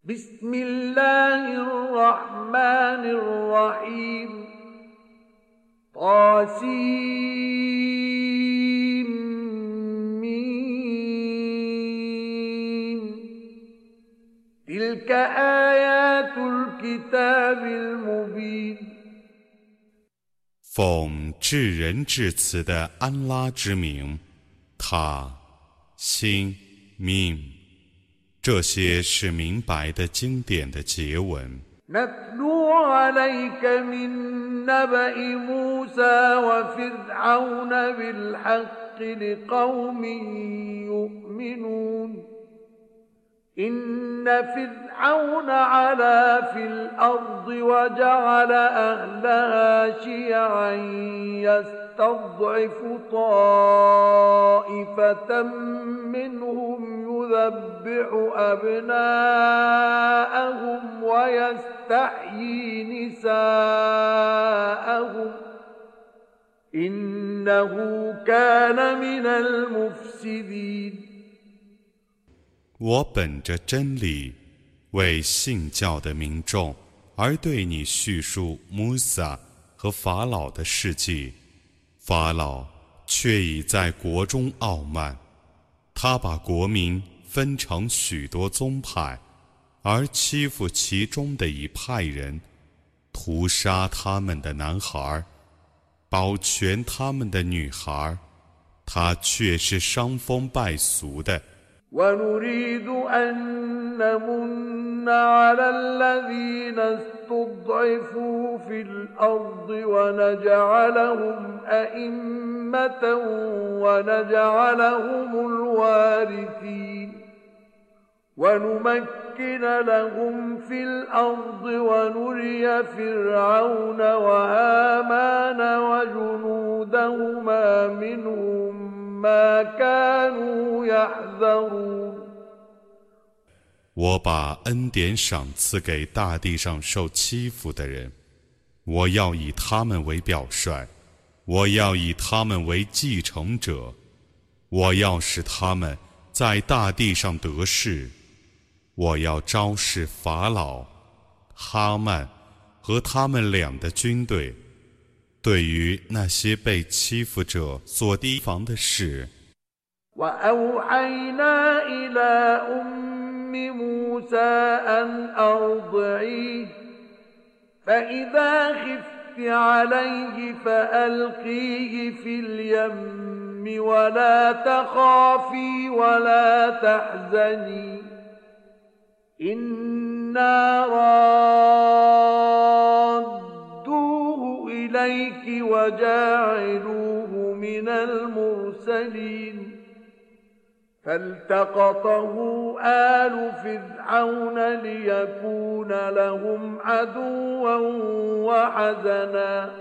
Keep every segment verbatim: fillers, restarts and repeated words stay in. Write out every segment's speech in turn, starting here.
بسم الله الرحمن الرحيم طاسيم ميم تلك آيات الكتاب المبين 奉至仁至慈的安拉之名，他、心、命，这些是明白的经典的结文。 نتلو عليك من نبأ موسى وفرعون بالحق لقوم يؤمنون إن فرعون علا في الأرض وجعل أهلها شيعا يستضعف طائفة منهم يذبح أبناءهم ويستحيي نساءهم إنه كان من المفسدين 我本着真理，为信教的民众而对你叙述穆萨和法老的事迹。法老却已在国中傲慢，他把国民分成许多宗派，而欺负其中的一派人，屠杀他们的男孩，保全他们的女孩，他却是伤风败俗的。 ونريد أن نمن على الذين استضعفوا في الأرض ونجعلهم أئمة ونجعلهم الوارثين ونمكن لهم في الأرض ونري فرعون وهامان وجنودهما منهم ما كانوا يحذرون 我把恩典赏赐给大地上受欺负的人，我要以他们为表率，我要以他们为继承者，我要使他们在大地上得势，我要昭示法老、哈曼和他们俩的军队。对于那些被欺负者所提防的事， وأوحينا إلى أم موسى أن أرضعيه فإذا خفت عليه فألقيه في اليم ولا تخافي ولا تحزني إنا رادوه إليك وجاعلوه من المرسلين فالتقطه آل فرعون ليكون لهم عدوا وحزنا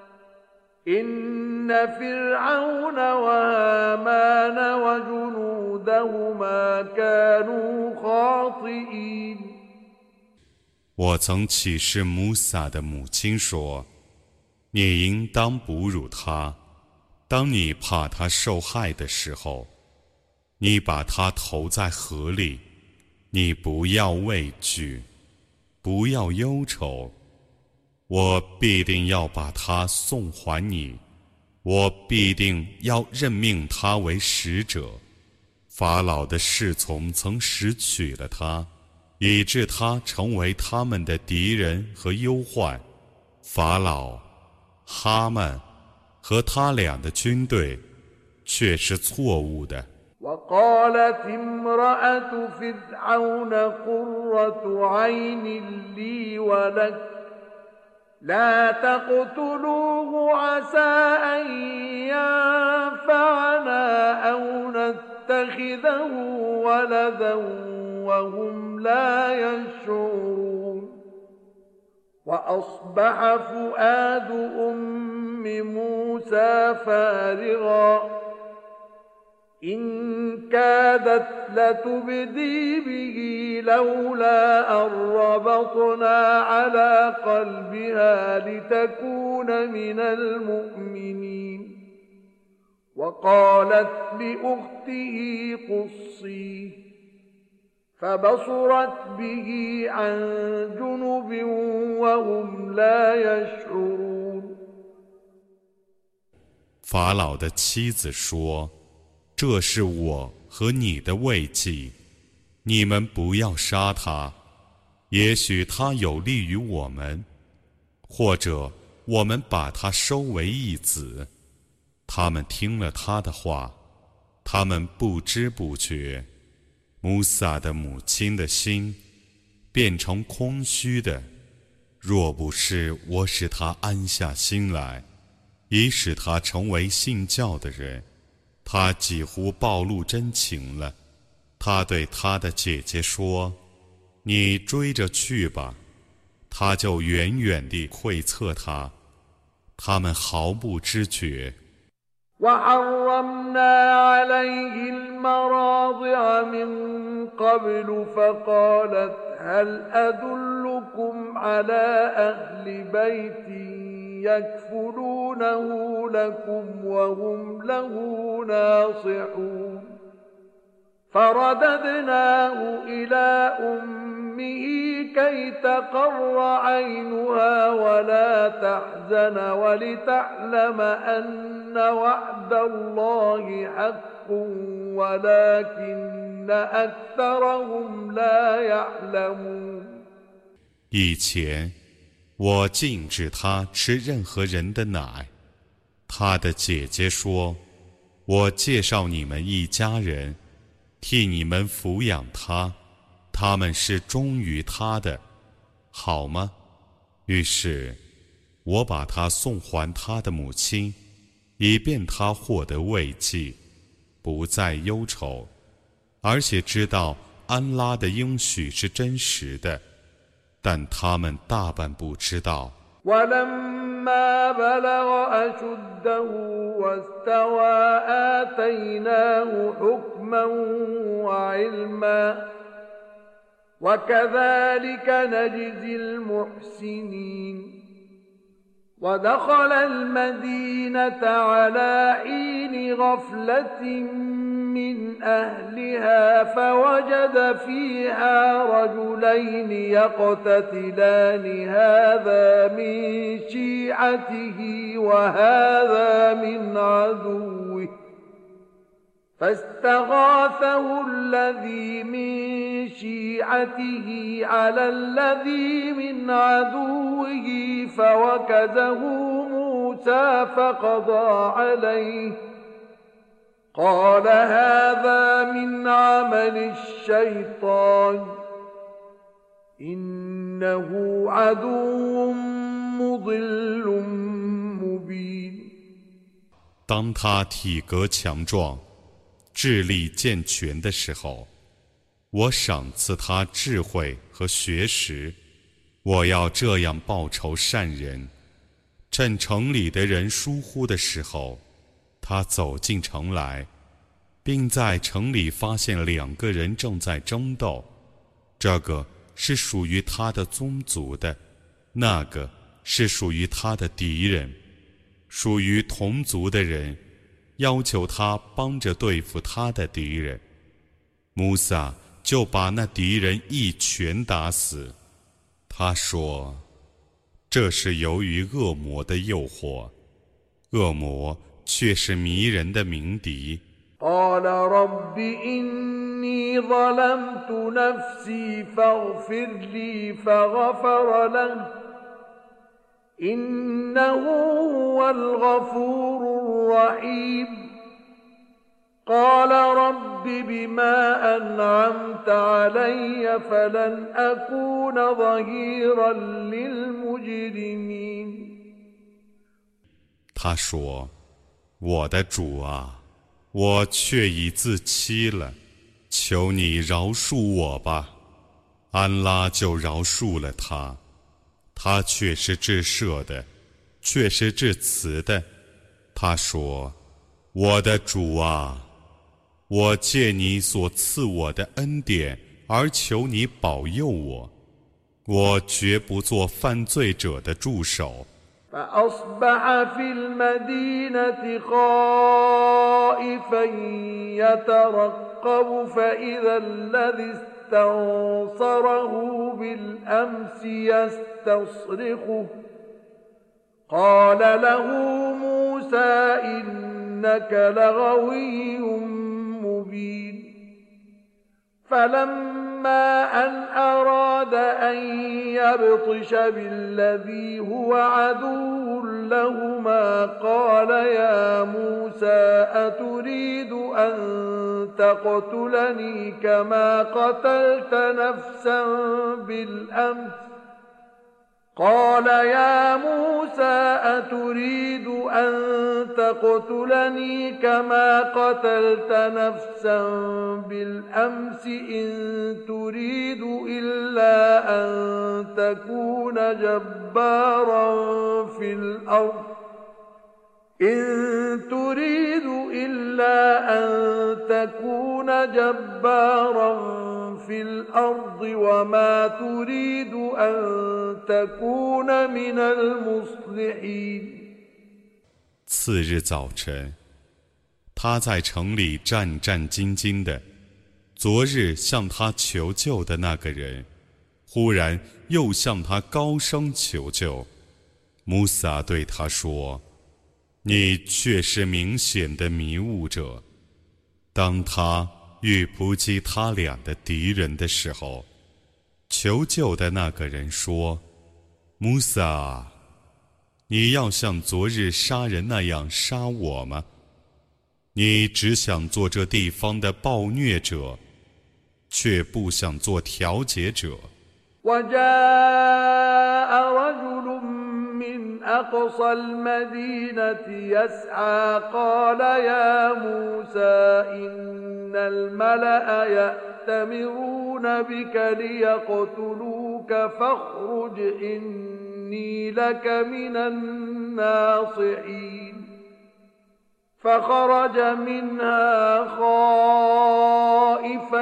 إن فرعون وهامان وجنودهما كانوا خاطئين 我曾启示穆萨的母亲说，你应当哺乳他，当你怕他受害的时候，你把他投在河里，你不要畏惧，不要忧愁，我必定要把他送还你，我必定要任命他为使者。法老的侍从曾拾取了他，以致他成为他们的敌人和忧患。法老、哈曼和他俩的军队却是错误的。 وقالت امرأة فرعون قرة عين لي ولك لا تقتلوه عسى أن ينفعنا أو نتخذه ولدا وهم لا يشعرون وأصبح فؤاد أم موسى فارغا إن كادت لتبدي به لولا أن ربطنا على قلبها لتكون من المؤمنين وقالت لأخته قصيه فبصرت به عن جنب وهم لا يشعرون。 法老的妻子说：“这是我和你的慰藉，你们不要杀他，也许他有利于我们，或者我们把他收为义子。”他们听了他的话，他们不知不觉，穆萨的母亲的心变成空虚的。若不是我使他安下心来，以使他成为信教的人，他几乎暴露真情了。他对他的姐姐说：“你追着去吧。”他就远远地窥测他，他们毫不知觉。 وحرمنا عليه المراضع من قبل فقالت هل أدلكم على أهل بيت يكفلونه لكم وهم له ناصحون فرددناه إلى أمه كي تقر عينها ولا تحزن ولتعلم أن وعد الله حق ولكن أكثرهم لا يعلمون。 以前，我禁止他吃任何人的奶。他的姐姐说：“我介绍你们一家人，替你们抚养他，他们是忠于他的，好吗？”于是，我把他送还他的母亲，以便他获得慰藉，不再忧愁，而且知道安拉的应许是真实的，但他们大半不知道。 ولما بلغ أشده واستوى آتيناه حكما وعلما وكذلك نجزي المحسنين ودخل المدينة على حين غفلة من أهلها فوجد فيها رجلين يقتتلان هذا من شيعته وهذا من عدوه فاستغاثه الذي من شيعته على الذي من عدوه فوكزه موسى فقضى عليه قال هذا من عمل الشيطان إنه عدو مضل مبين。 当他体格强壮，智力健全的时候，我赏赐他智慧和学识。我要这样报酬善人。趁城里的人疏忽的时候，他走进城来，并在城里发现两个人正在争斗，这个是属于他的宗族的，那个是属于他的敌人。属于同族的人要求他帮着对付他的敌人，穆萨就把那敌人一拳打死。他说：“这是由于恶魔的诱惑，恶魔却是迷人的鸣笛。” قال رب إني ظلمت نفسي فاغفر لي فغفر له إنه هو الغفور الرحيم قال رب بما أنعمت علي فلن أكون ظهيرا للمجرمين。 他说：“我的主啊，我却已自欺了，求你饶恕我吧。”安拉就饶恕了他，他却是至赦的，却是至慈的。他说：“我的主啊，我借你所赐我的恩典而求你保佑我，我绝不做犯罪者的助手。” فأصبح في المدينة خائفا يترقب فإذا الذي استنصره بالأمس يستصرخه قال له موسى إنك لغوي مبين فلما أن أراد أن يبطش بالذي هو عدو لهما قال يا موسى أتريد أن تقتلني كما قتلت نفسا بالأمس قال يا موسى أتريد أن تقتلني كما قتلت نفسا بالأمس إن تريد إلا أن تكون جبارا في الأرض إن تريد إلا أن تكون جبارا في الأرض وما تريد أن تكون من المصلحين。 次日早晨，他在城里战战兢兢的，昨日向他求救的那个人，忽然又向他高声求救。穆萨对他说：“你却是明显的迷雾者。”当他遇扑击他俩的敌人的时候，求救的那个人说：“穆萨，你要像昨日杀人那样杀我吗？你只想做这地方的暴虐者，却不想做调解者。” وجاء رجل من أقصى المدينة يسعى قال يا موسى إن الملأ يأتمرون بك ليقتلوك فاخرج إني لك من الناصحين فخرج منها خائفا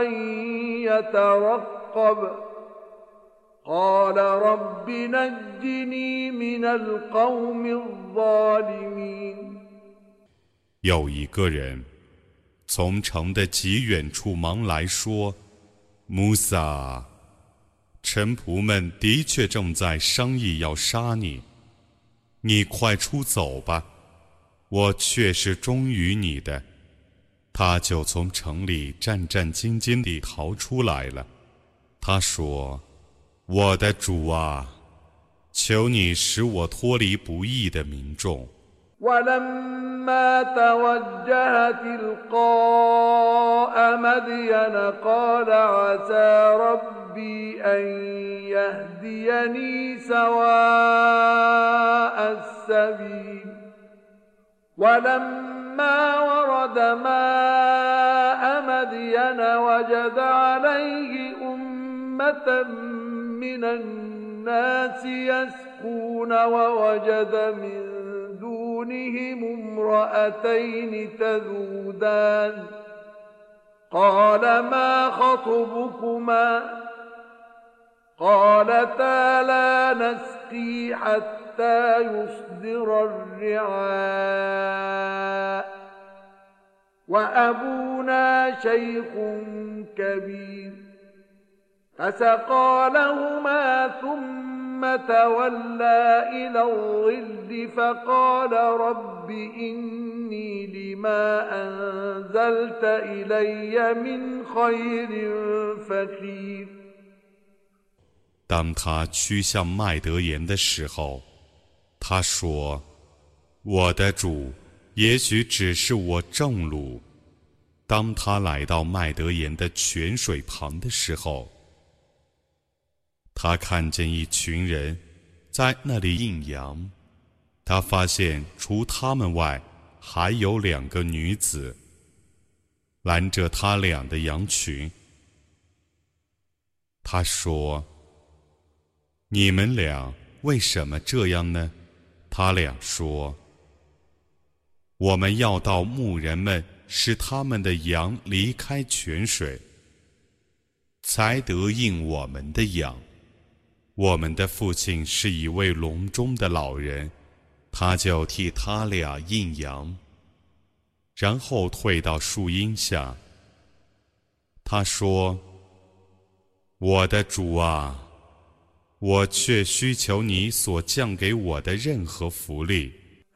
يترقب قال رب نجني من القوم الظالمين。 有一个人从城的极远处忙来说：“穆萨，臣仆们的确正在商议要杀你，你快出走吧，我却是忠于你的。”他就从城里战战兢兢地逃出来了。他说：“我的主啊，求你使我脱离不义的民众。” ولما توجه تلقاء مدين قال عسى ربي أن يهديني سواء السبيل ولما ورد ماء مدين وجد عليه أمة من الناس يسقون ووجد من دونهم امرأتين تذودان قال ما خطبكما قالتا لا نسقي حتى يصدر الرعاء وأبونا شيخ كبير فسقى لهما ثم تولى إلى الظل فقال رب إني لما أنزلت إلي من خير فقير。 当他趋向麦德言的时候，他说：“我的主，也许只是我正路。”当他来到麦德言的泉水旁的时候，他看见一群人在那里饮羊，他发现除他们外还有两个女子拦着他俩的羊群。他说：“你们俩为什么这样呢？”他俩说：“我们要到牧人们使他们的羊离开泉水，才得应我们的养。我们的父亲是一位笼中的老人，他就替他俩应羊，然后退到树荫下。他说： 我的主啊，我却需求你所降给我的任何福利。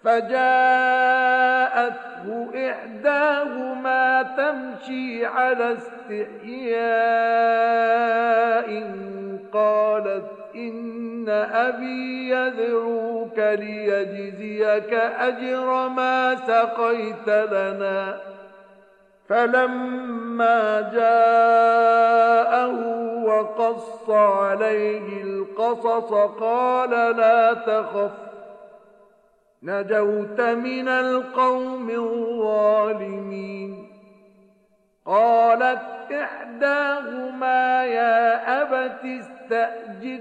فجاءته إحداهما تمشي على استحياء قالت إن أبي يدعوك ليجزيك أجر ما سقيت لنا فلما جاءه وقص عليه القصص قال لا تخف نجوت من القوم الظالمين قالت إحداهما يا أبت استأجر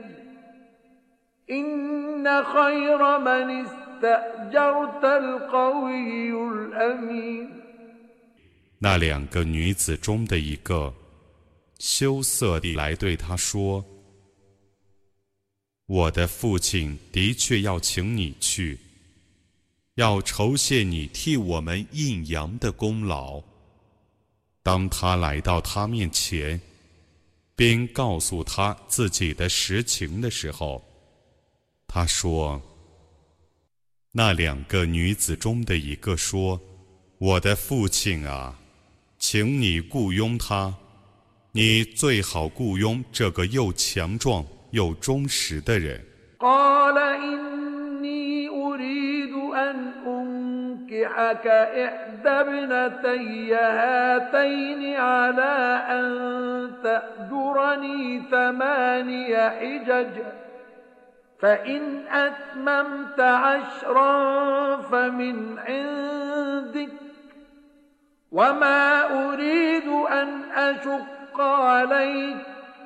إن خير من استأجرت القوي الأمين 那两个女子中的一个羞涩地来对他说：我的父亲的确要请你去，要酬谢你替我们印阳的功劳。当他来到他面前，并告诉他自己的实情的时候，他说：那两个女子中的一个说：我的父亲啊，请你雇佣他，你最好雇佣这个又强壮又忠实的人。 قال إني أريد أن أنكحك إحدى ابنتي هاتين على أن تأجرني ثماني حجج فإن أتممت عشرا فمن عندك وما أريد أن أشق عليك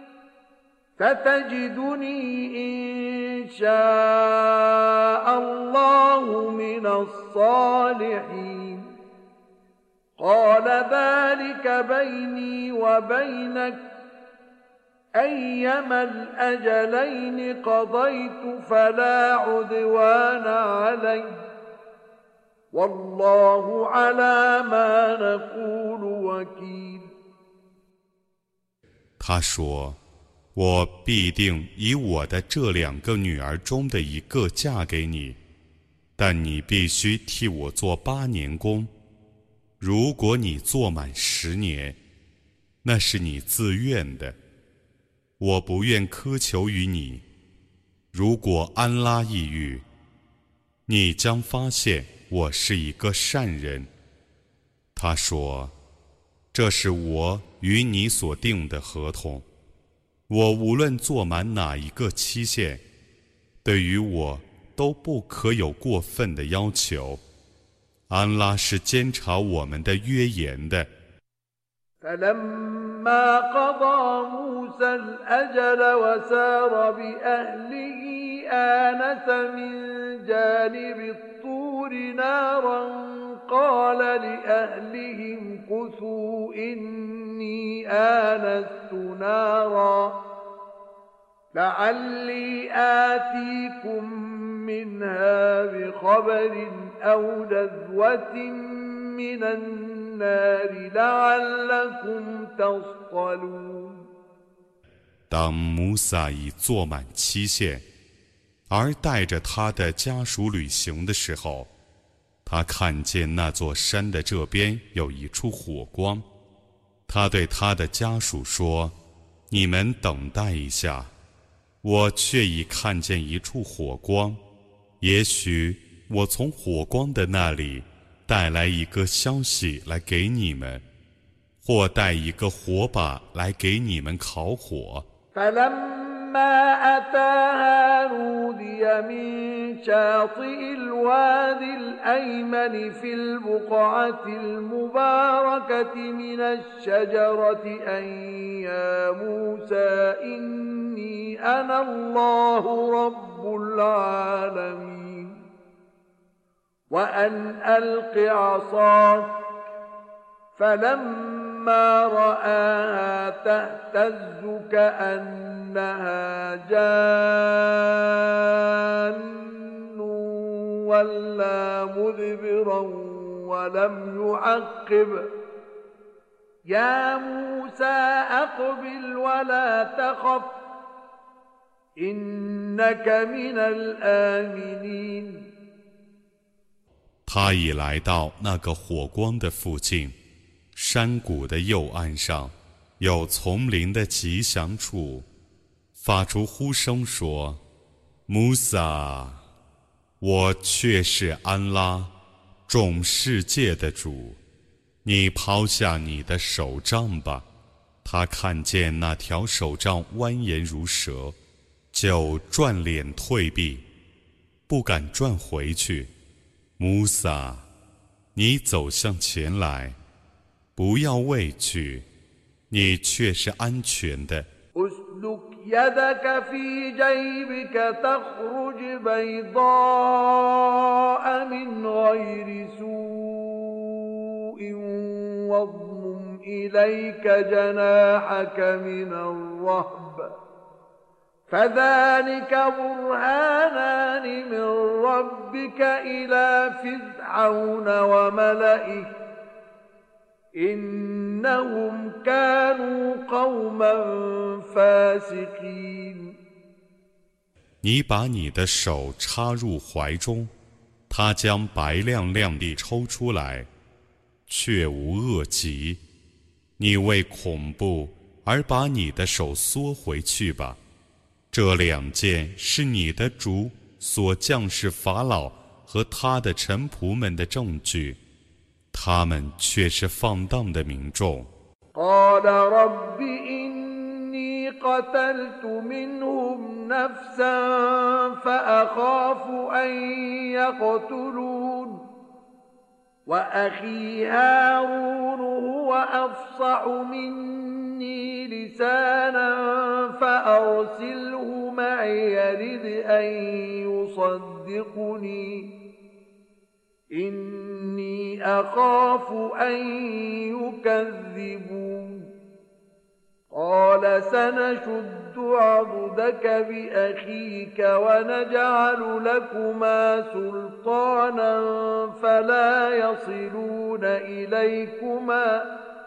ستجدني إن شاء الله من الصالحين قال ذلك بيني وبينك أيما الأجلين قضيت فلا عدوان علي والله على ما نقول وكيل 他说：我必定以我的这两个女儿中的一个嫁给你，但你必须替我做八年工。如果你做满十年，那是你自愿的，我不愿苛求于你。如果安拉抑郁，你将发现我是一个善人。他说：这是我与你所定的合同，我无论做满哪一个期限，对于我都不可有过分的要求。安拉是监察我们的约言的。 فلما قضى موسى الأجل وسار بأهله آنس من جانب الطور نارا قال لأهلهم كثوا إني آنست نارا لعلي آتيكم منها بخبر أو جذوة من النار لعلكم تصطلون 当穆萨已做满期限，而带着他的家属旅行的时候，他看见那座山的这边有一处火光。他对他的家属说：你们等待一下，我却已看见一处火光，也许我从火光的那里带来一个消息来给你们，或带一个火把来给你们烤火。 فلما أتاها نودي من شاطئ الوادي الأيمن في البقعة المباركة من الشجرة أن يا موسى إني أنا الله رب العالمين وأن ألق عصاك فلما رآها تهتز كأنها جان ولا مدبرا ولم يعقب يا موسى أقبل ولا تخف إنك من الآمنين 他已来到那个火光的附近，山谷的右岸上，有丛林的吉祥处，发出呼声说：“穆萨，我却是安拉，众世界的主。你抛下你的手杖吧。”他看见那条手杖蜿蜒如蛇，就转脸退避，不敢转回去。穆萨，你走向前来，不要畏惧，你却是安全的。 أسلك يدك في جيبك تخرج بيضاء من غير سوء واضمم إليك جناحك من الرهب فذلك برهانان من ربك إلى فرعون وملئه إنهم كانوا قوما فاسقين 你把你的手插入怀中，他将白亮亮地抽出来，却无恶疾。你为恐怖而把你的手缩回去吧。这两件是你的主所降示法老和他的臣仆们的证据，他们却是放荡的民众。 قال رب إني قتلت منهم نفسا فأخاف أن يقتلون وأخي هارون هو أفصح مني لسانا فأرسله معي يرد أن يصدقني إني أخاف أن يكذبون قال سنشد عضدك بأخيك ونجعل لكما سلطانا فلا يصلون إليكما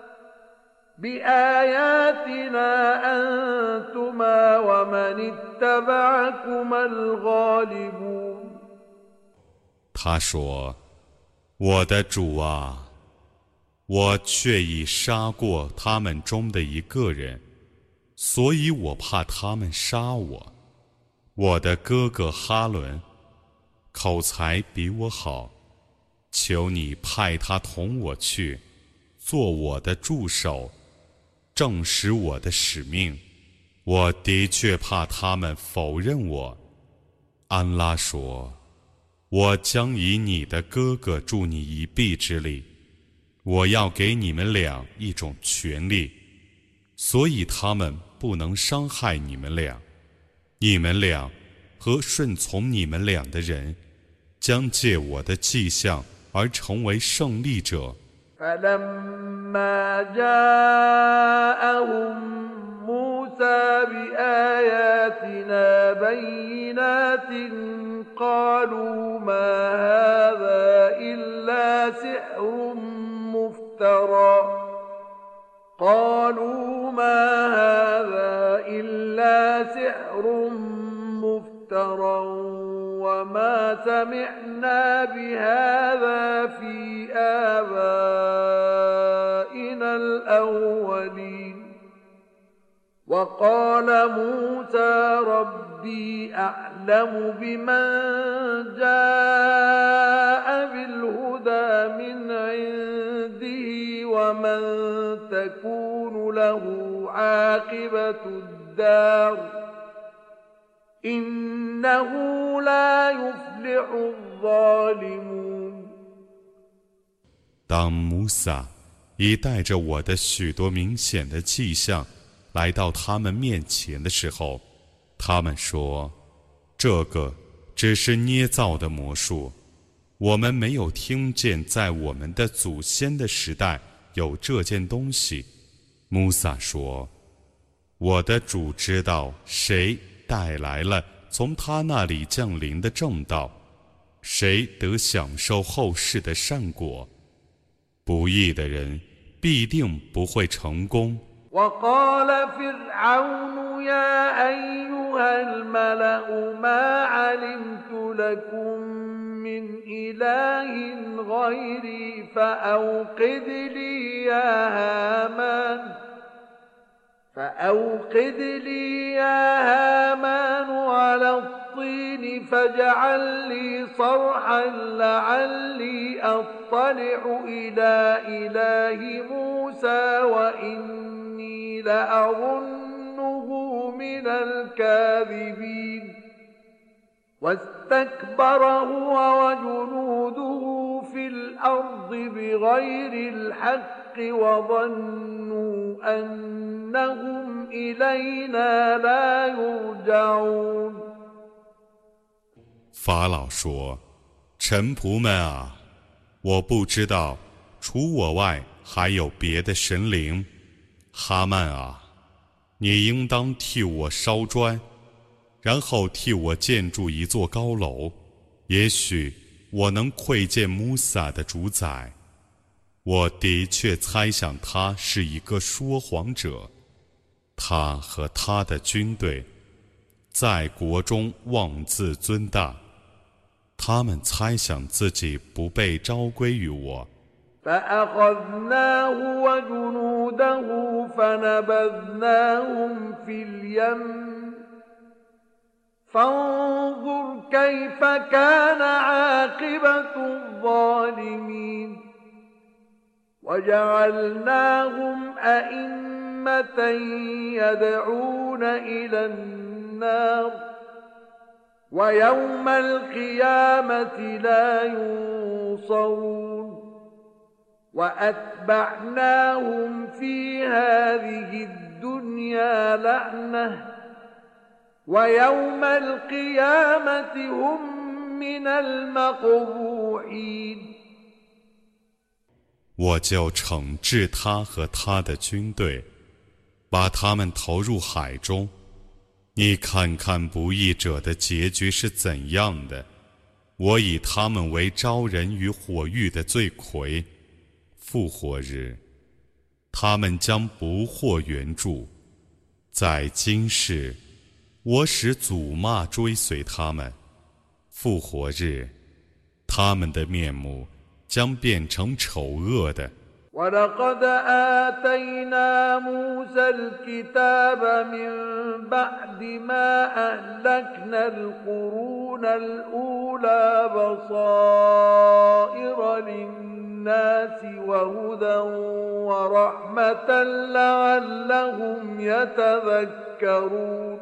بآياتنا أنتما ومن اتبعكما الغالبون 他说：“我的主啊，我却已杀过他们中的一个人，所以我怕他们杀我。我的哥哥哈伦口才比我好，求你派他同我去，做我的助手，证实我的使命。我的确怕他们否认我。”安拉说：“我将以你的哥哥助你一臂之力，我要给你们俩一种权利，所以他们不能伤害你们俩。你们俩和顺从你们俩的人，将借我的迹象而成为胜利者。” فلما جاءهم موسى بآياتنا بينات قالوا ما هذا إلا سحر مفترى قالوا ما هذا إلا سحر مفترى وما سمعنا بهذا في آبائنا الأولين وقال موسى ربي أعلم بمن جاء بالهدى من عنده ومن تكون له عاقبة الدار إنه لا يفلح الظالمون 当穆萨已带着我的许多明显的迹象来到他们面前的时候，他们说：“这个只是捏造的魔术，我们没有听见在我们的祖先的时代有这件东西。”穆萨说：“我的主知道谁带来了从他那里降临的正道，谁得享受后世的善果。不义的人必定不会成功。 وقال فرعون يا أيها الملأ ما علمت لكم من إله غيري فأوقد لي يا هامان فأوقد لي يا هامان على الطين فاجعل لي صرحا لعلي أطلع إلى إله موسى وإني لأظنه من الكاذبين واستكبر هو وجنوده في الأرض بغير الحق وظنوا أنهم إلينا لا يرجعون 法老说：“臣仆们啊，我不知道除我外还有别的神灵。哈曼啊，你应当替我烧砖，然后替我建筑一座高楼，也许我能窥见穆萨的主宰。我的确猜想他是一个说谎者，他和他的军队在国中妄自尊大，他们猜想自己不被召归于我。” فأخذناه وجنوده فنبذناهم في اليم فانظر كيف كان عاقبة الظالمين وجعلناهم أئمة يدعون إلى النار ويوم القيامة لا ينصرون وأتبعناهم في هذه الدنيا لعنة ويوم القيامة هم من المقبوحين 我就惩治他和他的军队，把他们投入海中。你看看不义者的结局是怎样的。我以他们为招人于火狱的罪魁。复活日，他们将不获援助。在今世，我使祖骂追随他们。复活日，他们的面目将变成丑恶的。 ولقد آتينا موسى الكتاب من بعد ما أهلكنا القرون الأولى بصائر للناس وهدى ورحمة لعلهم يتذكرون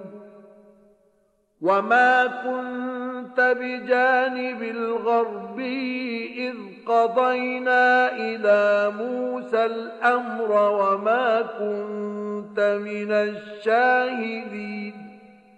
وما كنت بجانب الغربي إذ قضينا إلى موسى الأمر وما كنت من الشاهدين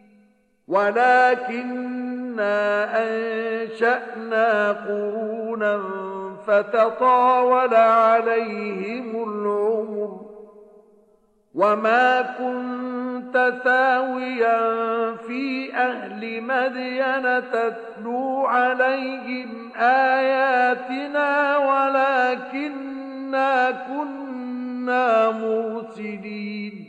ولكننا أنشأنا قرونا فتطاول عليهم العمر وما كنت ثاويا في أهل مدين تتلو عليهم آياتنا ولكننا كنا مرسلين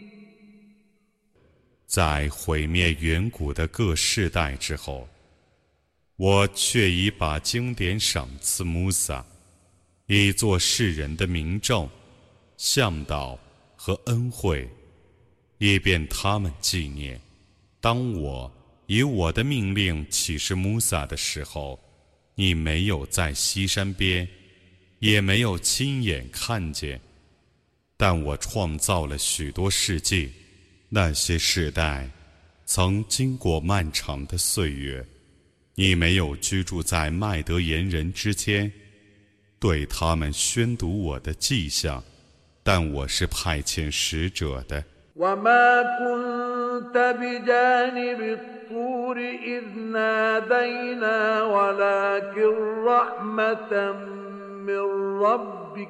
在毁灭远古的各世代之后，我却已把经典赏赐穆萨，以作世人的明证、向导和恩惠，以便他们纪念。当我以我的命令启示穆萨的时候，你没有在西山边，也没有亲眼看见，但我创造了许多世界。那些世代曾经过漫长的岁月，你没有居住在麦德言人之间，对他们宣读我的迹象，但我是派遣使者的。 وما كنت بجانب الطور إذ نادينا ولكن رحمة من ربك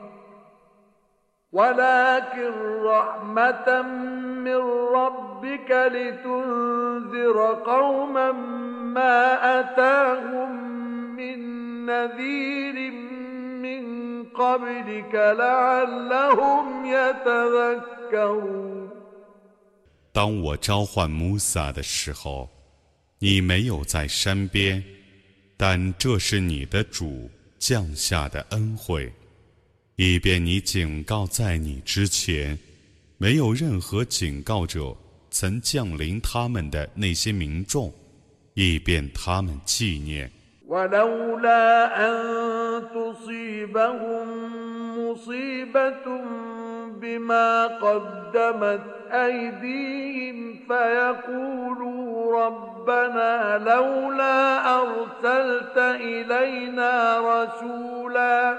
ولكن رحمة من ربك لتنذر قوما ما أتاهم من نذير من قبلك لعلهم يتذكرون。 当我召唤穆萨的时候，你没有在山边，但这是你的主降下的恩惠，以便你警告在你之前没有任何警告者曾降临他们的那些民众，以便他们纪念。 ولولا أن تصيبهم مصيبة بما قدمت أيديهم فيقولوا ربنا لولا أرسلت إلينا رسولا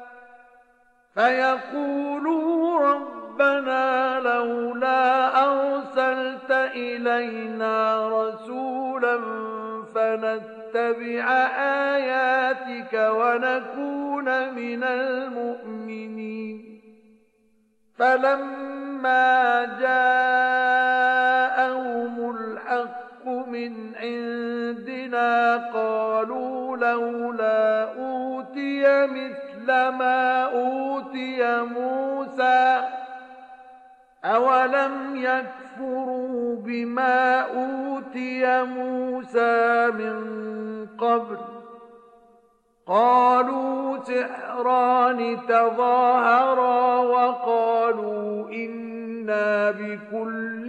فيقولوا ربنا لولا أرسلت إلينا رسولا فنتبع آياتك ونكون من المؤمنين فلما جاءهم الحق من عندنا قالوا لولا أوتي مثل ما أوتي موسى أولم يكفروا بما أوتي موسى من قبل قالوا سحران تظاهرا وقالوا إنا بكل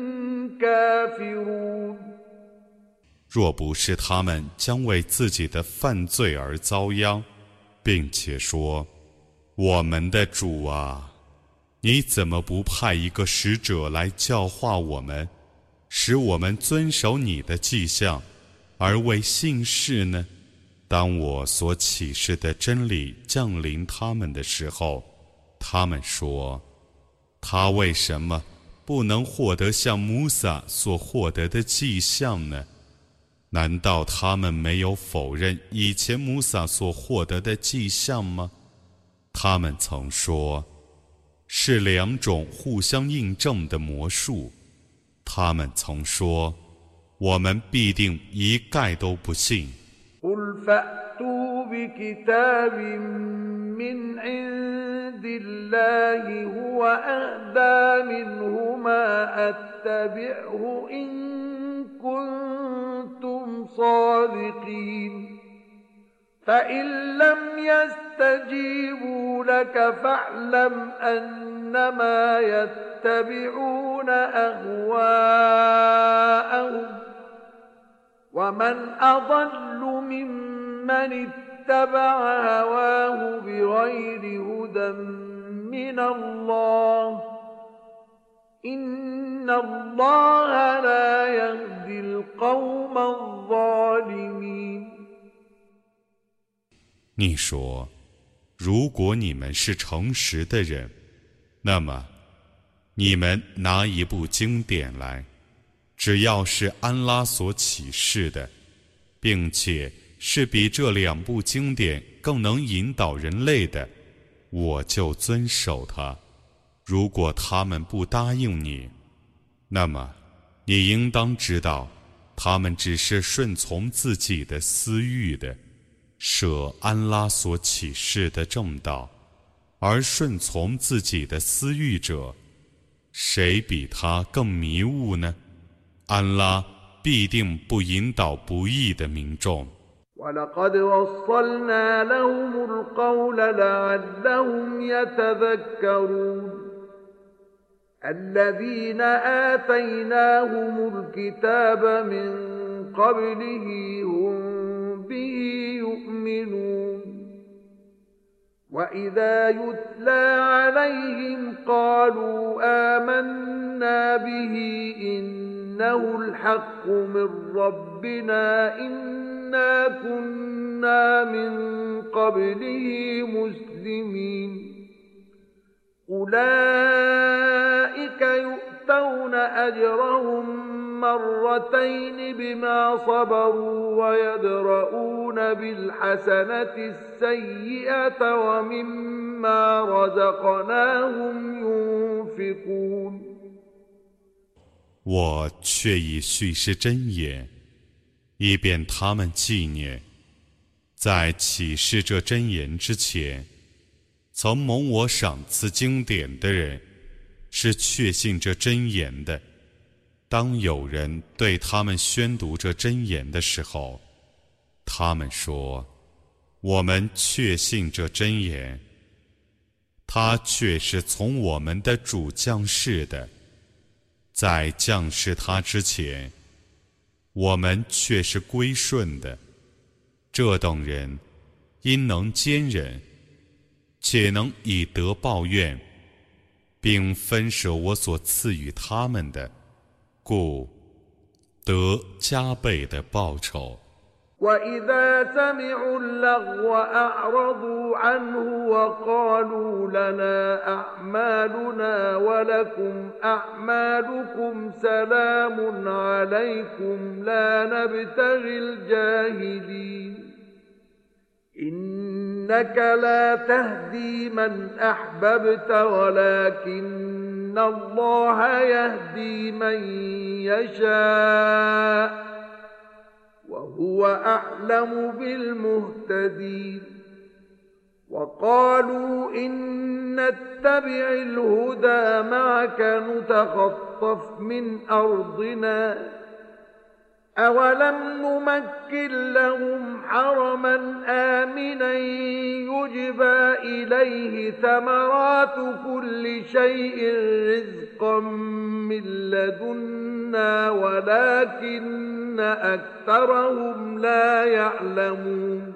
كافرون。 若不是他们将为自己的犯罪而遭殃，并且说：“我们的主啊，你怎么不派一个使者来教化我们，使我们遵守你的迹象，而为信士呢？”当我所启示的真理降临他们的时候，他们说：“他为什么不能获得像穆萨所获得的迹象呢？难道他们没有否认以前穆萨所获得的迹象吗？”他们曾说：“是两种互相印证的魔术。”他们曾说：“我们必定一概都不信。” قل فأتوا بكتاب من عند الله هو أهدى منهما أتبعه إن كنتم صادقين فإن لم يستجيبوا لك فاعلم أنما يتبعون أهواءهم ومن أضل ممن اتبع هواه بغير هدى من الله إن الله لا يهدي القوم الظالمين。 你说，如果你们是诚实的人，那么你们拿一部经典来，只要是安拉所启示的，并且是比这两部经典更能引导人类的，我就遵守它。如果他们不答应你，那么你应当知道，他们只是顺从自己的私欲的，舍安拉所启示的正道，而顺从自己的私欲者，谁比他更迷雾呢？安拉必定不引导不义的民众。 وَلَقَدْ وَصَّلْنَا لَهُمُ الْقَوْلَ لَعَلَّهُمْ يَتَذَكَّرُونَ الَّذِينَ آتَيْنَاهُمُ الْكِتَابَ مِنْ قَبْلِهِ هُمْ بِهِ يُؤْمِنُونَ وَإِذَا يُتْلَى عَلَيْهِمْ قَالُوا آمَنَّا بِهِ إِنَّهُ الْحَقُّ مِنْ رَبِّنَا إِنَّا كُنَّا مِنْ قَبْلِهِ مُسْلِمِينَ أُولَئِكَ يُؤْتَوْنَ أَجْرَهُمْ مرتين بما صبروا ويدرؤون بالحسنة السيئة ومما رزقناهم ينفقون 我却已叙事真言，以便他们纪念。在启示这真言之前， 曾蒙我赏赐经典的人，是确信这真言的。当有人对他们宣读这真言的时候，他们说：我们确信这真言，它却是从我们的主降世的。在降世他之前，我们却是归顺的。这等人因能坚忍，且能以德报怨，并分舍我所赐予他们的，故得加倍的报酬。 وإذا سمعوا اللغو أعرضوا عنه وقالوا لنا أعمالنا ولكم أعمالكم سلام عليكم لا نبتغي الجاهلين إنك لا تهدي من أحببت ولكن الله يهدي من يشاء وهو أعلم بالمهتدين وقالوا إن نتبع الهدى معك نتخطف من أرضنا أولم نمكن لهم حرما آمنا يجبى إليه ثمرات كل شيء رزقا من لدنا ولكن أكثرهم لا يعلمون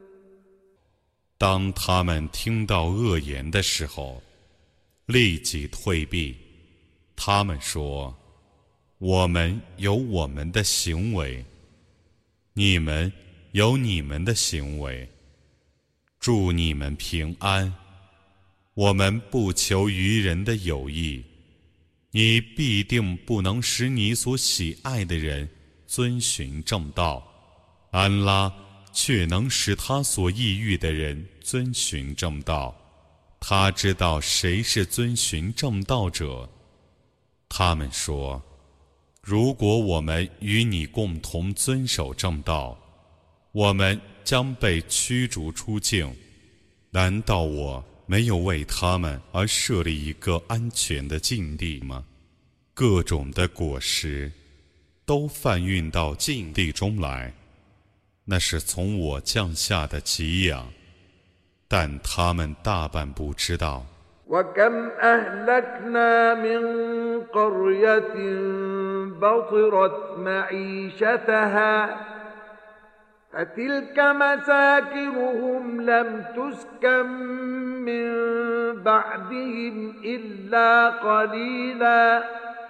当他们听到恶言的时候，立即退避。他们说：我们有我们的行为，你们有你们的行为，祝你们平安。我们不求于人的有益，你必定不能使你所喜爱的人遵循正道，安拉却能使他所抑郁的人遵循正道。他知道谁是遵循正道者。他们说：如果我们与你共同遵守正道，我们将被驱逐出境。难道我没有为他们而设立一个安全的境地吗？各种的果实都贩运到境地中来，那是从我降下的给养，但他们大半不知道。 وكم أهلكنا من قرية بطرت معيشتها فتلك مساكنهم لم تسكن من بعدهم إلا قليلا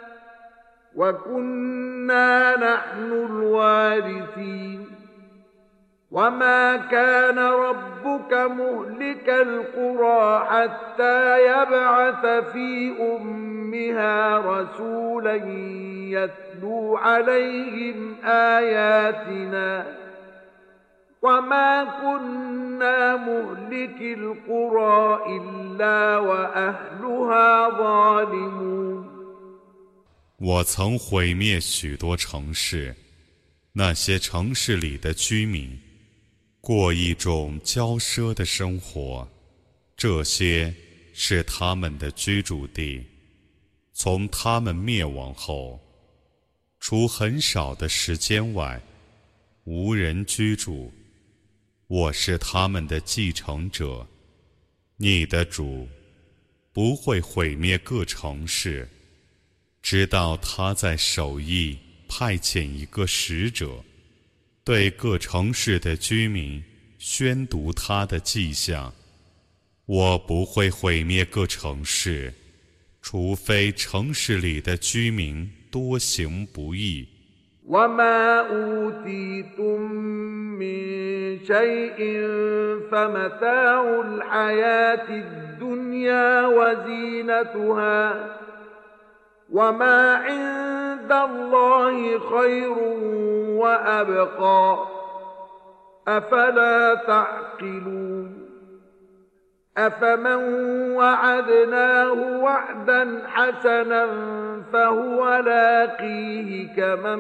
وكنا نحن الوارثين وما كان ربك مهلك القرى حتى يبعث في أمها رسولا يتلو عليهم آياتنا وما كنا مهلك القرى إلا وأهلها ظالمون 我曾毁灭许多城市，那些城市里的居民过一种骄奢的生活，这些是他们的居住地。从他们灭亡后，除很少的时间外，无人居住。我是他们的继承者。你的主不会毁灭各城市，直到他在首义派遣一个使者，对各城市的居民宣读他的迹象。我不会毁灭各城市，除非城市里的居民多行不义。 وما أوتيتم من شيء فمتاع الحياة الدنيا وزينتها وما عند الله خير وأبقى أفلا تعقلون أفمن وعدناه وعدا حسنا فهو لاقيه كمن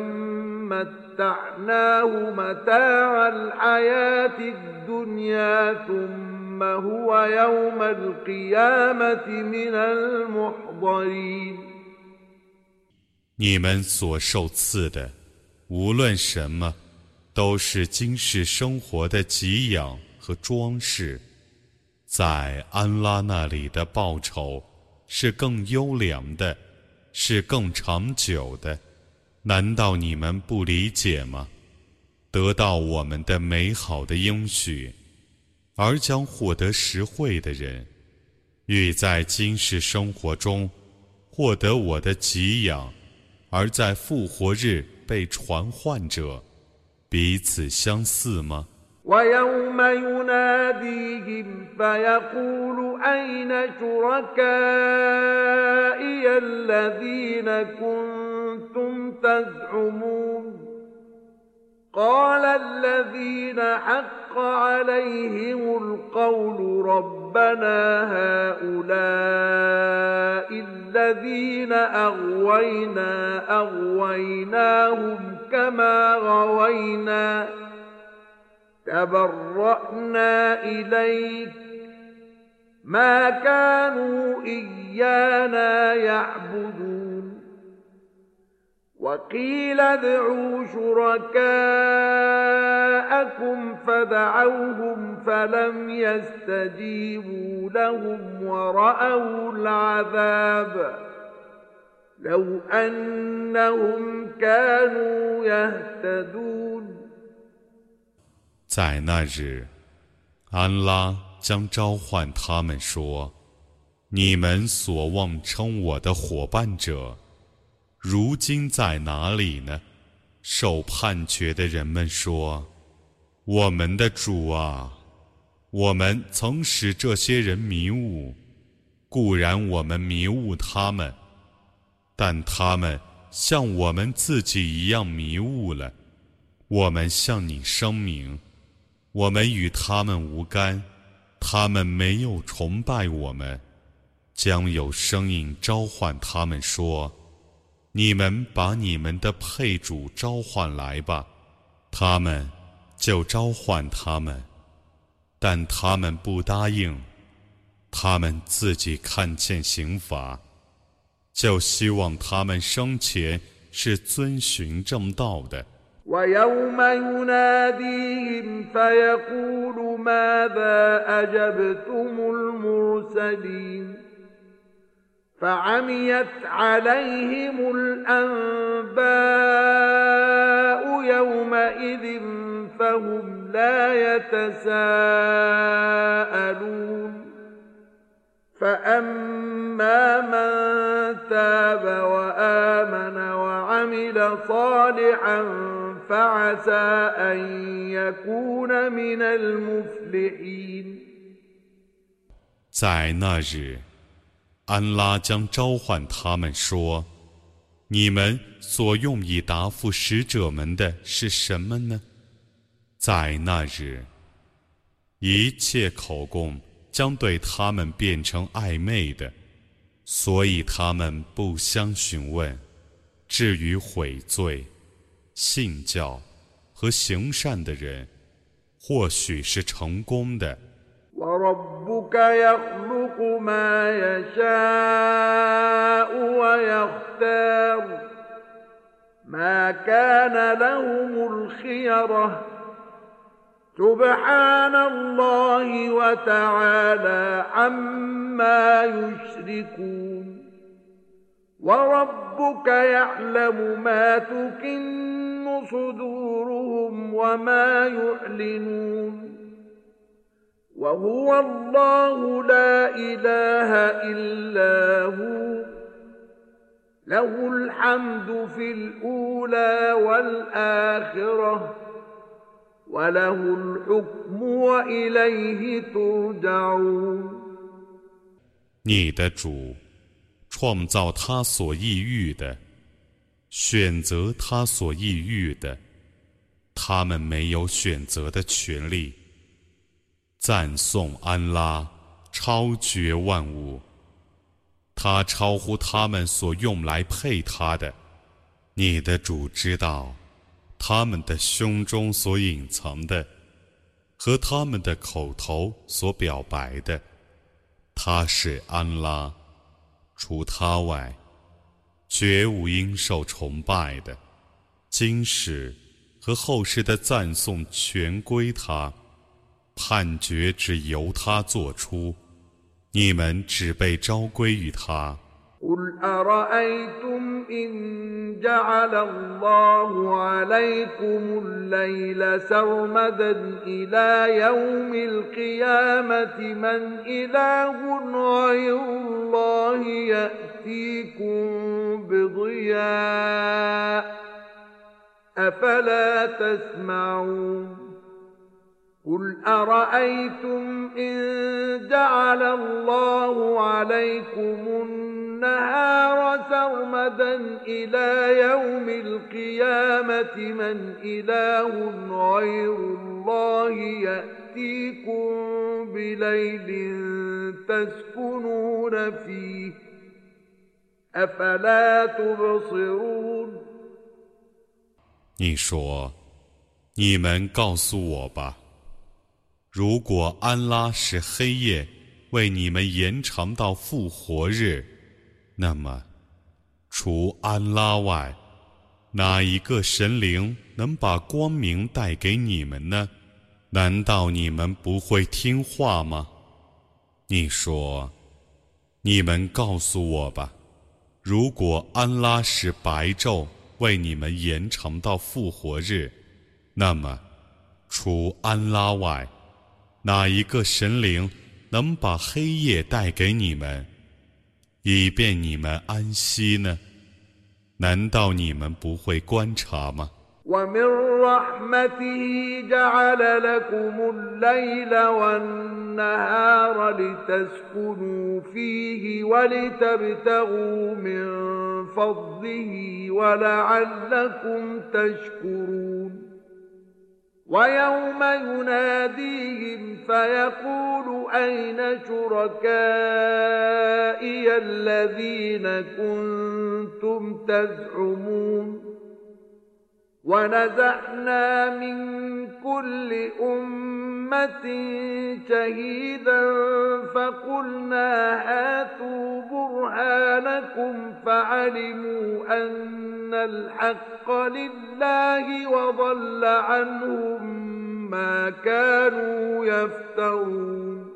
متعناه متاع الحياة الدنيا ثم ثم هو يوم القيامة من المحضرين。 你们所受赐的，无论什么，都是今世生活的给养和装饰，在安拉那里的报酬是更优良的，是更长久的。难道你们不理解吗？得到我们的美好的应许，而将获得实惠的人，欲在今世生活中获得我的给养，而在复活日被传唤者，彼此相似吗 ويوم يناديهم فيقول أين شركائي الذين كنتم تزعمون قال الذين حق عليهم القول ربنا هؤلاء الذين أغوينا أغويناهم كما غوينا تبرأنا إليك ما كانوا إيانا يعبدون وقيل ادعوا شركاءكم فدعوهم فلم يستجيبوا لهم ورأوا العذاب لو أنهم كانوا يهتدون。 在那日，安拉将召唤他们说：你们所妄称我的伙伴者，如今在哪里呢？受判决的人们说：我们的主啊，我们曾使这些人迷雾，固然我们迷雾他们，但他们像我们自己一样迷雾了。我们向你声明，我们与他们无干，他们没有崇拜我们。将有声音召唤他们说：你们把你们的配主召唤来吧。他们就召唤他们，但他们不答应。他们自己看见刑罚，就希望他们生前是遵循正道的。 ويوم يناديهم فيقول ماذا أجبتم المرسلين فعميت عليهم الأنباء يومئذ فهم لا يتساءلون فأما من تاب وآمن وعمل صالحا فعسى أن يكون من المفلحين。 在那日，安拉将召唤他们说：你们所用以答复使者们的是什么呢？在那日，一切口供将对他们变成暧昧的，所以他们不相询问。至于悔罪、信教和行善的人，或许是成功的。 وَرَبُّكَ يَخْلُقُ مَا يَشَاءُ وَيَخْتَارُ مَا كَانَ لَهُمُ الْخِيَرَةُ سُبْحَانَ اللَّهِ وَتَعَالَى عَمَّا يُشْرِكُونَ وَرَبُّكَ يَعْلَمُ مَا تُكِنُّ صُدُورُهُمْ وَمَا يُعْلِنُونَ وهو الله لا إله إلا هو له الحمد في الأولى والآخرة وله الحكم وإليه ترجعون。 你的主创造他所意欲的，选择他所意欲的，他们没有选择的权利。赞颂安拉，超绝万物，他超乎他们所用来配他的。你的主知道他们的胸中所隐藏的， 和他们的口头所表白的。他是安拉，除他外，绝无应受崇拜的。今世和后世的赞颂全归他，判决只由他做出，你们只被召归于他。 قل أرأيتم إن جعل الله عليكم الليل سرمدا إلى يوم القيامة من إله غير الله يأتيكم بضياء أفلا تسمعون قل أرأيتم إن جعل الله عليكم النهار سرمدا إلى يوم القيامة من إله غير الله يأتيكم بليل تسكنون فيه أفلا تبصرون 你说，你们告诉我吧，如果安拉使黑夜为你们延长到复活日，那么除安拉外，哪一个神灵能把光明带给你们呢？难道你们不会听话吗？你说，你们告诉我吧，如果安拉使白昼为你们延长到复活日，那么除安拉外，哪一个神灵能把黑夜带给你们，以便你们安息呢？难道你们不会观察吗？ ومن رحمته جعل لكم الليل والنهار لتسكنوا فيه ولتبتغوا من فضله ولعلكم تشكرون ويوم يناديهم فيقول أين شركائي الذين كنتم تزعمون ونزعنا من كل أمة شهيدا فقلنا هاتوا برهانكم فعلموا أن الحق لله وضل عنهم ما كانوا يفترون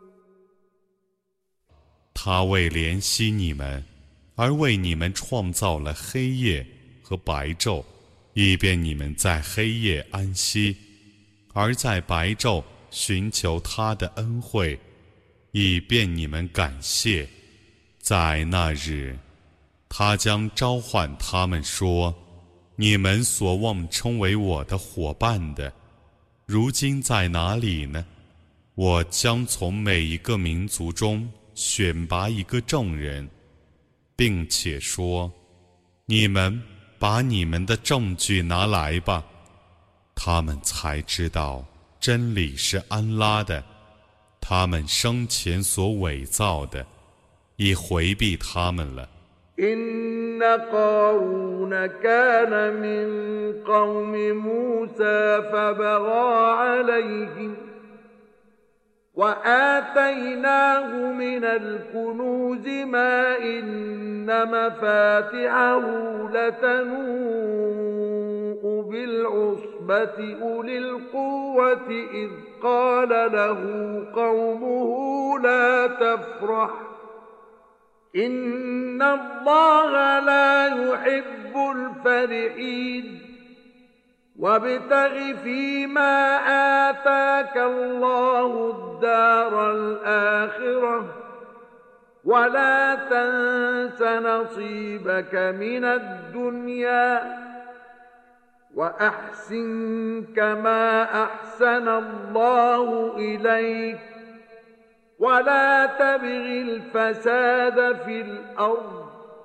他为怜惜你们，而为你们创造了黑夜和白昼，以便你们在黑夜安息，而在白昼寻求他的恩惠，以便你们感谢。在那日，他将召唤他们说：你们所妄称为我的伙伴的，如今在哪里呢？我将从每一个民族中选拔一个证人，并且说：你们把你们的证据拿来吧。他们才知道真理是安拉的，他们生前所伪造的已回避他们了。 إن قارون كان من قوم موسى فبغى عليهم وآتيناه من الكنوز ما إن مفاتحه لتنوء بالعصبة أولي القوة إذ قال له قومه لا تفرح إن الله لا يحب الفرحين وابتغ فيما آتاك الله الدار الآخرة ولا تنس نصيبك من الدنيا وأحسن كما أحسن الله إليك ولا تبغ الفساد في الأرض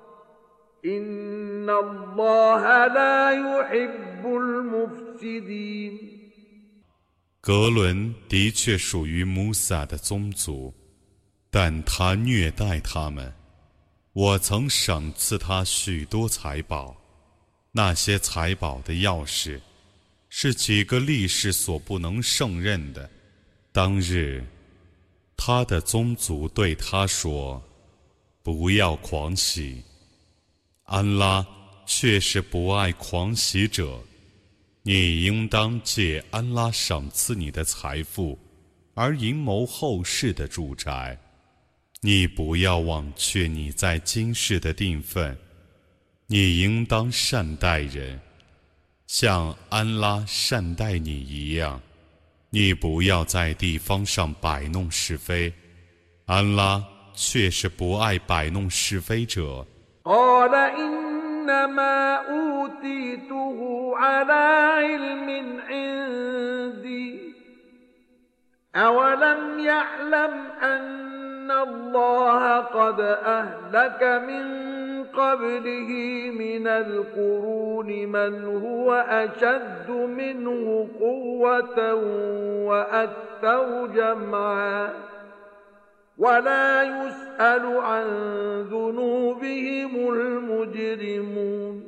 إن الله لا يحب المفسدين 格伦的确属于穆萨的宗族，但他虐待他们。我曾赏赐他许多财宝，那些财宝的钥匙是几个力士所不能胜任的。当日，他的宗族对他说：“不要狂喜。”安拉却是不爱狂喜者。你应当借安拉赏赐你的财富，而营谋后世的住宅。你不要忘却你在今世的定分。你应当善待人，像安拉善待你一样。你不要在地方上摆弄是非，安拉却是不爱摆弄是非者。 إنما أوتيته على علم عندي أولم يعلم أن الله قد أهلك من قبله من القرون من هو أشد منه قوة وأكثر جمعا ولا يسأل عن ذنوبهم المجرمون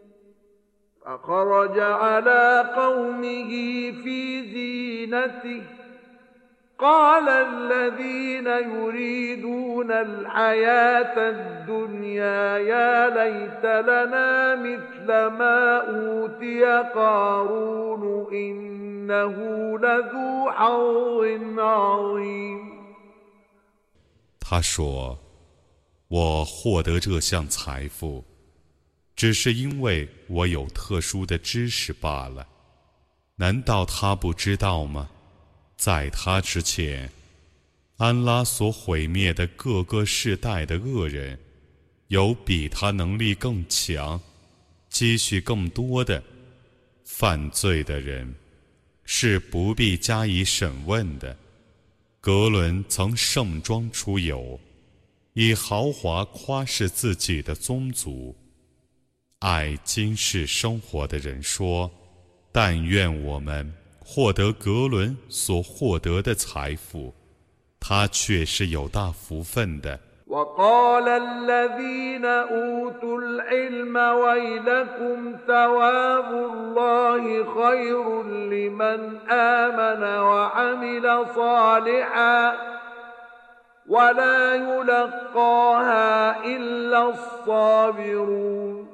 فخرج على قومه في زينته قال الذين يريدون الحياة الدنيا يا ليت لنا مثل ما أوتي قارون إنه لذو حظ عظيم。 他说：“我获得这项财富，只是因为我有特殊的知识罢了。难道他不知道吗？在他之前，安拉所毁灭的各个世代的恶人，有比他能力更强、积蓄更多的犯罪的人，是不必加以审问的。”格伦曾盛装出游，以豪华夸饰自己的宗族。爱今世生活的人说：“但愿我们获得格伦所获得的财富，他却是有大福分的。” وقال الذين أوتوا العلم ويلكم ثواب الله خير لمن آمن وعمل صالحا ولا يلقاها إلا الصابرون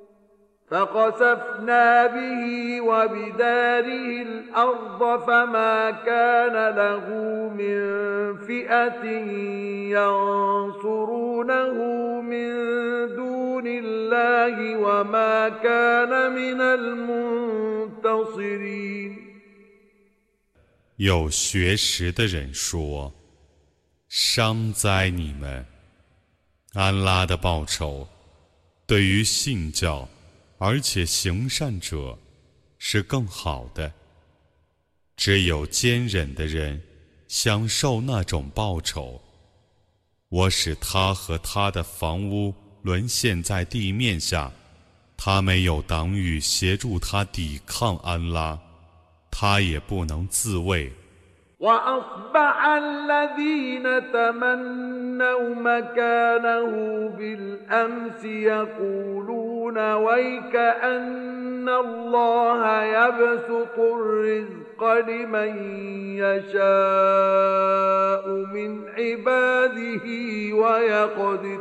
فخسفنا به وبداره الأرض فما كان له من فئة ينصرونه من دون الله وما كان من المنتصرين。 有学识的人说：“伤哉你们！安拉的报酬对于信教而且行善者是更好的，只有坚忍的人享受那种报酬。我使他和他的房屋沦陷在地面下，他没有党羽协助他抵抗安拉，他也不能自卫。 وأصبح الذين تمنوا مكانه بالأمس يقولون ويك أن الله يبسط الرزق لمن يشاء من عباده ويقدر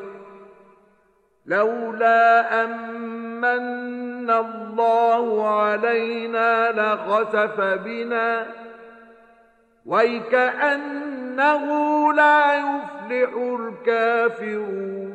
لولا أمن الله علينا لخسف بنا ويكأنه لا يفلح الكافرون。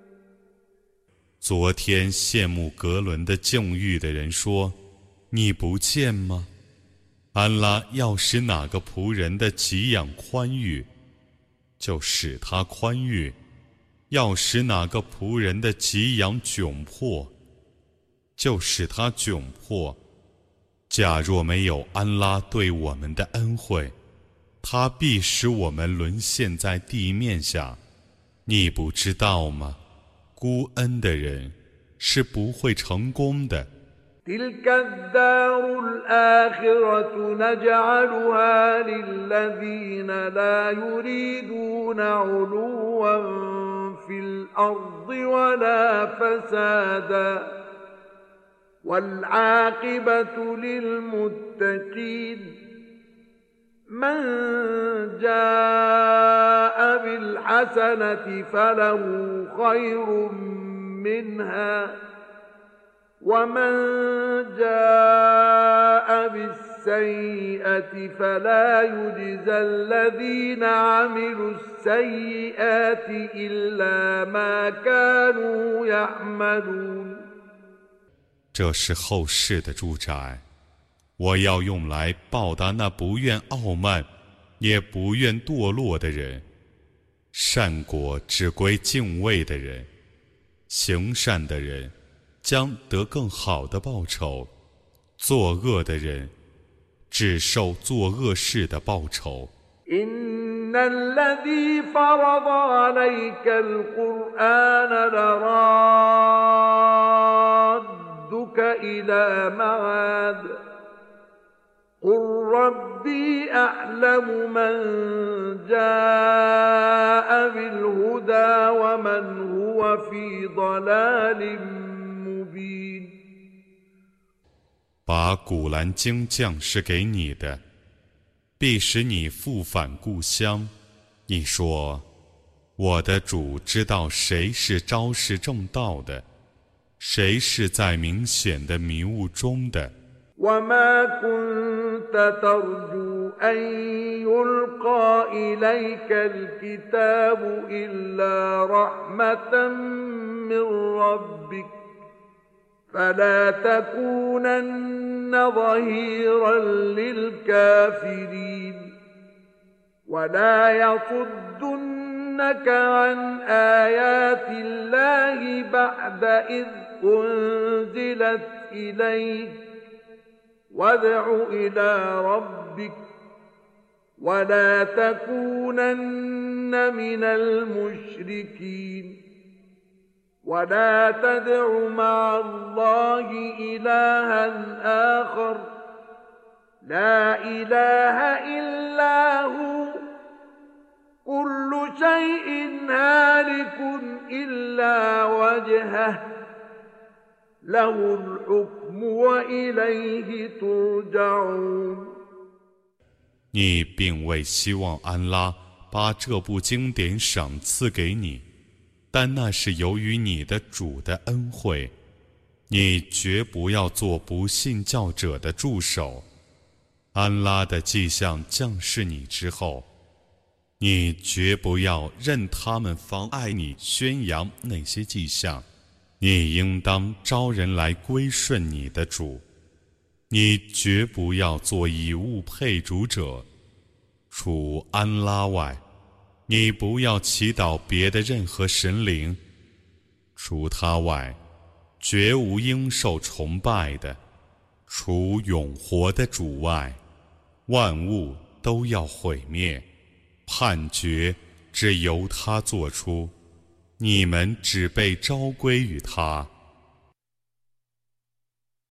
昨天羡慕格伦的境遇的人说：“你不见吗？安拉要使哪个仆人的给养宽裕，就使他宽裕；要使哪个仆人的给养窘迫，就使他窘迫。假若没有安拉对我们的恩惠，他必使我们沦陷在地面下，你不知道吗？孤恩的人是不会成功的。 تلك الدار الآخرة نجعلها للذين لا يريدون علوا في الأرض ولا فسادا والعاقبة للمتقين من جاء بالحسنة فله خير منها ومن جاء بالسيئة فلا يجزى الذين عملوا السيئات إلا ما كانوا يعملون 这是后世的住宅，我要用来报答那不愿傲慢也不愿堕落的人。善果只归敬畏的人，行善的人将得更好的报酬，作恶的人只受作恶事的报酬。 إن الذي فرض عليك القرآن لرادك إلى معاد قل ربي أعلم من جاء بالهدى ومن هو في ضلال مبين 把古兰经降是给你的，必使你复返故乡。你说，我的主知道谁是昭示正道的，谁是在明显的迷雾中的。 وما كنت ترجو أن يلقى إليك الكتاب إلا رحمة من ربك فلا تكونن ظهيرا للكافرين ولا يصدنك عن آيات الله بعد إذ أنزلت إليك وادع إلى ربك ولا تكونن من المشركين ولا تدع مع الله إلها آخر لا إله إلا هو كل شيء هالك إلا وجهه له الحكم وإليه ترجعون 你并未希望安拉把这部经典赏赐给你，但那是由于你的主的恩惠。你绝不要做不信教者的助手。安拉的迹象降示你之后，你绝不要任他们妨碍你宣扬那些迹象。你应当招人来归顺你的主，你绝不要做以物配主者。除安拉外，你不要祈祷别的任何神灵，除他外，绝无应受崇拜的。除永活的主外，万物都要毁灭，判决只由他做出。你们只被召归于他。